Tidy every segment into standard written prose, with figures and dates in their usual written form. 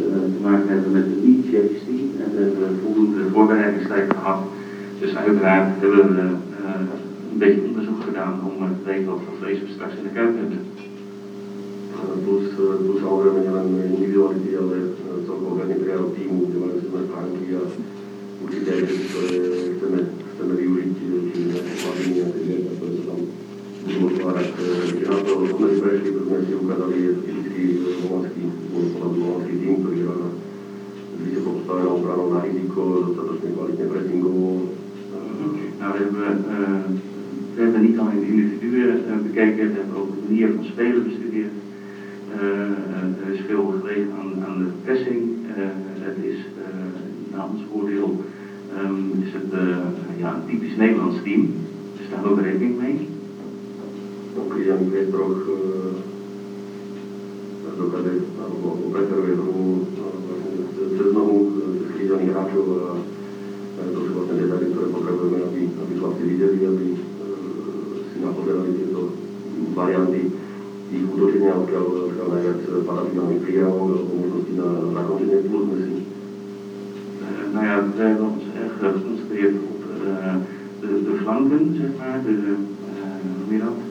te maken hebben met de lead-JC en we hebben voldoende voorbereidingstijd gehad. Dus uiteraard hebben we een beetje onderzoek gedaan om te weten wat voor vlees we straks in de kuip hebben. Plus samozrejme nielen individuality, ale celkovo materiál týmu, kde majú silné stránky a určite aj veci, ktoré chceme využiť, či nejaké hladiny, nejaké zvieratá, ktoré sa tam budú otvárať. Keď na to sme si prešli, to sme si ukázali typický holandský tým, ktorý hrá na vysoko postavenou obranou na riziko, dostatočne kvalitne pressingovo. Nou, we hebben niet alleen de individuen bekeken, we hebben ook de manier van spelen bestudeerd. Er is veel gelegen aan de pressing. Het is naar ons oordeel is het een typisch Nederlands team, dus daar houden we rekening mee. Ook Jan Krestroch dokáže alebo preferuje hru cez nohu, cez krížaných hráčov a to sú vlastne detaily, ktoré potrebujeme, aby chlapci videli, aby si napozerali tieto varianty ich útočenia, odkiaľ najviac paradigmálnych príjavov alebo možnosti na zakončenie plus sme si. Nou ja, we hebben ons erg geconcentreerd op de flanken, zeg maar, hoe je dat?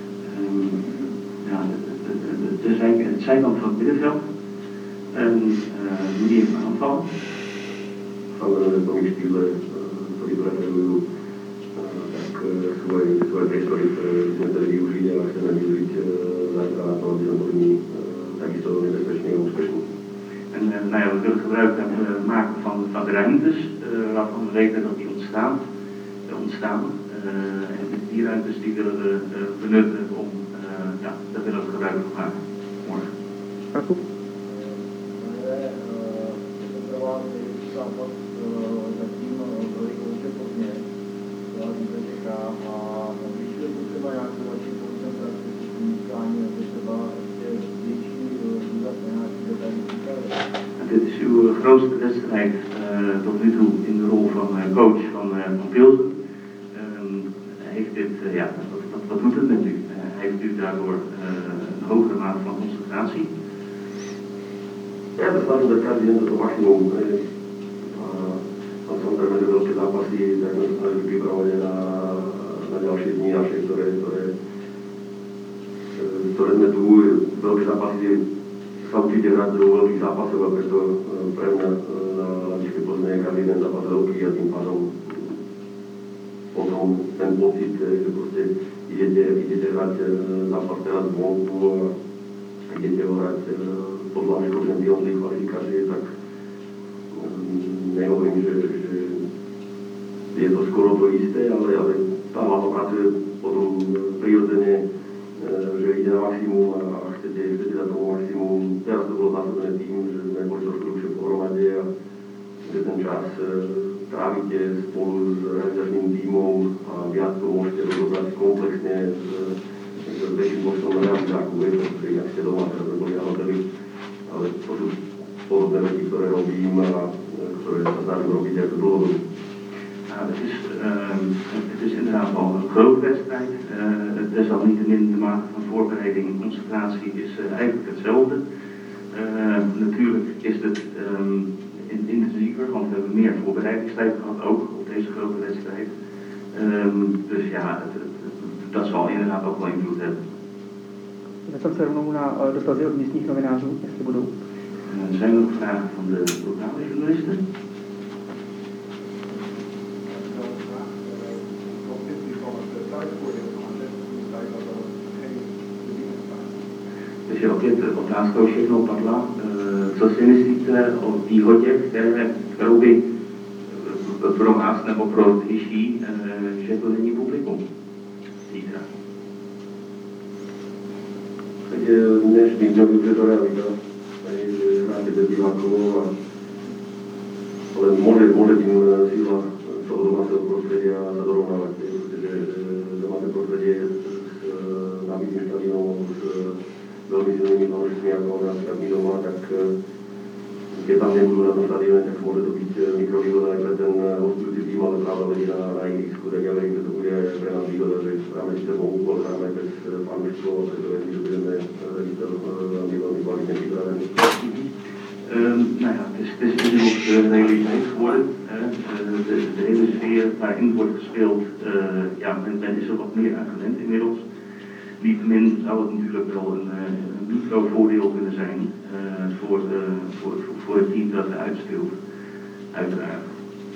Het zijkant van het middenveld en manier van aanvallen. Samozrejme, v tom ich štýle, ktorí preferujú, tak sú aj priestory, ktoré sme chceli využiť a chceme využiť zajtra na to, aby sme boli takisto nebezpečný a úspešný. En nou ja, we willen gebruik maken van de ruimtes, waarvan we weten dat die ontstaan. En die ruimtes die willen we benutten om, daar willen we gebruik van maken morgen. Dit is uw grootste wedstrijd tot nu toe in de rol van coach van Pilsen. Heeft dit, wat doet het met u? Heeft u daardoor een hogere mate van concentratie? Ja, to snažím dať každý deň toto maximum. A samozrejme, že veľké zápasy, tak sme sa snažili pripravovať na ďalšie dni naše, ktoré sme tu. Veľké zápasy sa určite hrať do veľkých zápasov a preto pre mňa na Lavičke Plzne je každý jeden zápas veľký a tým pádom potom ten pocit, že proste idete hrať zápas teraz vonku a idete ho hrať podľa škočnej kvalifikácie, tak nehovorím, že je to skoro to isté, ale tá hlava pracuje potom prirodzene, že ide na maximum a chcete dať tomu maximum. Teraz to bolo zásadné tým, že sme boli trošku dlhšie pohromade a že ten čas trávite spolu s realizačným tímom a viac to môžete rozobrať komplexne s väčším počtom realizáku, pretože ak ste doma, teraz sme boli na hoteli, ale to sú podobné veci, ktoré robím a ktoré sa snažím robiť ako dlhodobo. Het is inderdaad al een grote wedstrijd. Desalniettemin de mate van voorbereiding en concentratie is eigenlijk hetzelfde. Natuurlijk is het intensiever, want we hebben meer voorbereidingstijd gehad, ook op deze grote wedstrijd. Dus ja, dat zal inderdaad ook wel invloed hebben. Já jsem se rovnou na dotazy od místních novinářů, jestli budou. Zijn er nog vragen van de lokale journalisten? Takže opět otázka už jednou padla. Co si myslíte o výhodě, kterou by pro vás nebo pro zdejší, že to není publikum zítra? Tak je dnešný dňom, že to realita. Že hráte bez divákov, ale môže tým síla toho domáceho prostredia sa dorovnávať. Že domáce prostredie s nabitým štadionom, s veľmi silnými fanúšikmi ako napríklad my doma, tak keď tam nebudú na tom štadióne, tak môže to byť mikrovýhoda aj pre ten hostujúci tým, ale práve vedí na ihrisku, tak ja verím, že to bude aj pre nás výhoda, že hráme si ten úkol, hráme bez fanúšikov, preto verím, že budeme veľmi kvalitne pripravení. nou ja, het is inmiddels realiteit geworden. De hele sfeer waarin wordt gespeeld, ja, men is er wat meer aan gewend inmiddels. Niettemin zou het natuurlijk wel een microvoordeel kunnen zijn voor het team dat eruit speelt, uiteraard.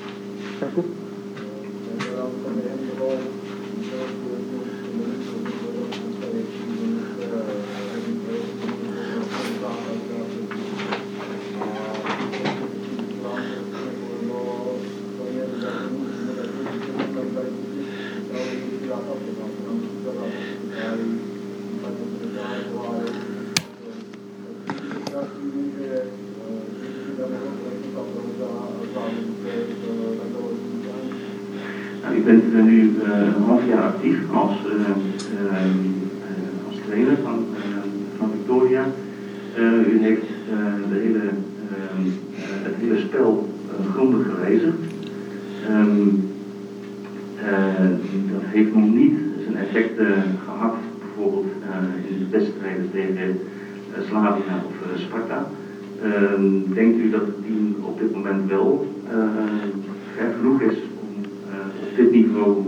U bent nu een half jaar actief als trainer van Victoria. U heeft het hele spel grondig gewijzigd. Dat heeft nog niet zijn effecten gehad, bijvoorbeeld in de wedstrijden tegen Slavia of Sparta. Denkt u dat het team op dit moment wel ver genoeg is om op dit niveau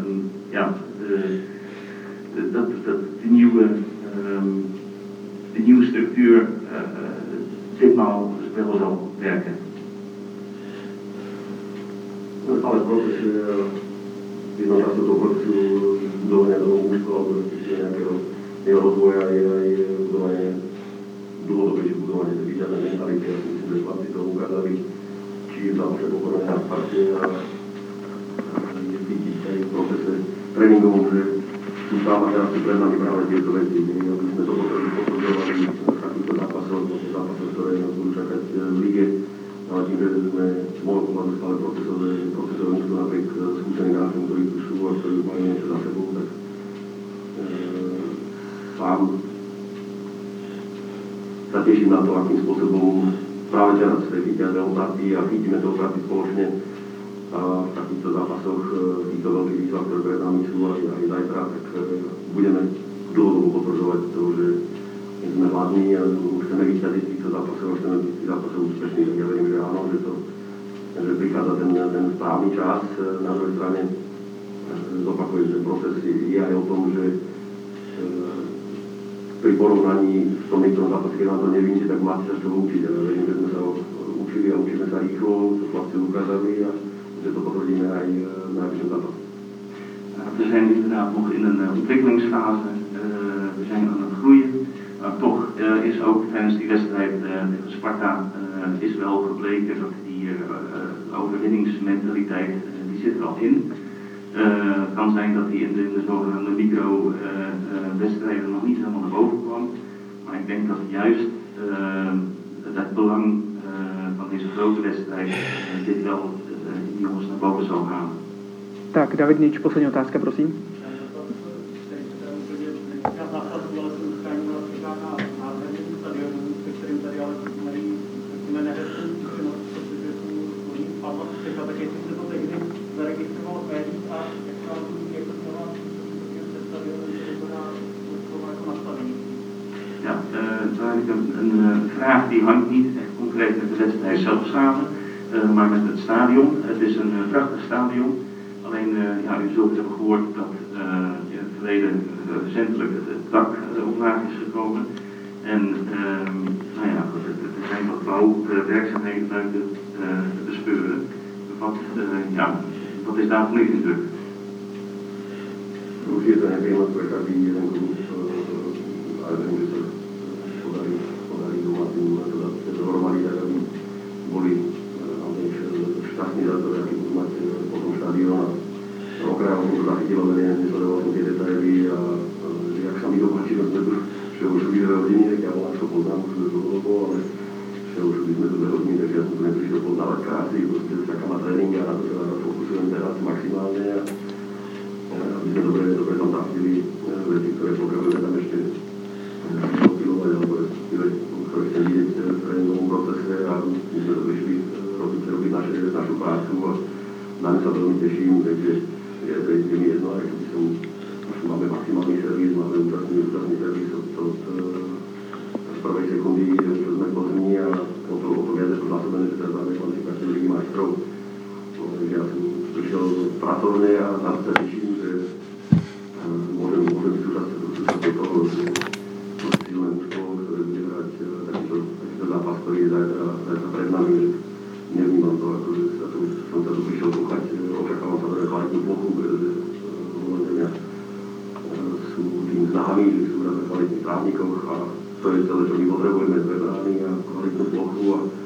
de nieuwe structuur ditmaal wel zal werken? Ale proces jedno často toho procesu budovania toho mužstva alebo nejakého jeho rozvoja je aj budovanie, dlhodobejšie budovanie tej víťaznej mentality. Ja si myslím, že chlapci to ukázali, či v zápase pokorene na Sparte a je cítiť aj v procese tréningovom, že sú tam a teraz sú pred nami práve tieto veci. Aby sme to potrebovali v takýchto zápasoch, ktoré nás budú čakať v lige. Ale tým, že sme z môjho pohľadu stále procesové mužstvo napriek skúseným hráčom, ktorí tu sú a ktorí majú niečo za sebou, tak sám sa teším na to, akým spôsobom práve teraz chytia rezultáty a chytíme to práci spoločne a v takýchto zápasoch, v týchto veľkých výzvach, ktoré pred nami sú aj zajtra, tak budeme dlhodobo potvrdzovať to, že sme hladní a chceme vyťažiť týchto zápasov, chceme byť tých zápasov úspešní, tak ja verím, že áno, že prichádza ten správny čas. Na druhej strane zopakujem, že proces je aj o tom, že pri porovnaní v tom niektorom zápase, keď vám to nevyjde, tak máte sa z toho učiť. Ja verím, že sme sa učili a učíme sa rýchlo, to chlapci ukázali a že to potvrdíme aj v najbližšom zápase. We zijn inderdaad nog in een ontwikkelingsfase, we zijn aan het groeien. Maar toch is ook tijdens die wedstrijd tegen Sparta is wel gebleken dat die overwinningsmentaliteit, die zit er al in. Het kan zijn dat die in de zogenaamde micro-wedstrijden nog niet helemaal naar boven kwam. Maar ik denk dat juist het belang van deze grote wedstrijd dit wel die jongens naar boven zal halen. Tak, David Nič, poslední otázka, prosím. Ja, een vraag die hangt niet echt concreet met de wedstrijd zelf samen, maar met het stadion. Het is een prachtig stadion. Alleen, ja, u zult hebben gehoord dat in het verleden recentelijk het dak omlaag is gekomen. En nou ja, er zijn wat bouwwerkzaamheden buiten te bespeuren. Wat is daarvan uw indruk? Určite to nepríjemné pre každý jeden klub, ale viem, že sa podarí domácim dohromady, tak aby boli šťastní za to, aký budú mať potom štadión. A okrajovo som to zachytilo, nesledoval som tie detaily a jak sa mi dokončilo, sme tu všehošli 2 hodiny, tak ja volám, čo poznám už dlhodobo, ale všehošli sme tu 2 hodiny, takže ja som tu neprišiel poznávať krásy, proste čaká ma tréning a na to sa fokusujem teraz maximálne. Aby sme dobre tam zachytili veci, ktoré potrebujeme tam ešte popilovať, alebo ktoré chcem vidieť v tréningovom procese a my sme to prišli robiť našu prácu a na ňu sa veľmi teším, takže je mi jedno, aj keď máme maximálny servis, máme úžasný servis od prvej sekundy, čo sme v Plzni a o to viac, že to povedané, že teraz máme konci každý Ligy majstrov. Takže ja som prišiel pracovne a tam sa teším, že môžem byť súčasťou toho, že to silné mužstvo, ktoré bude hrať takýto zápas, ktorý je zajtra pred nami, že nevnímam to, ako že som sa tu prišiel kúkať, očakávam sa veľmi kvalitnú plochu, pretože Holanďania sú tým známi, že sú na kvalitných právnikoch a to je celé, čo my potrebujeme, dve brány a kvalitnú plochu a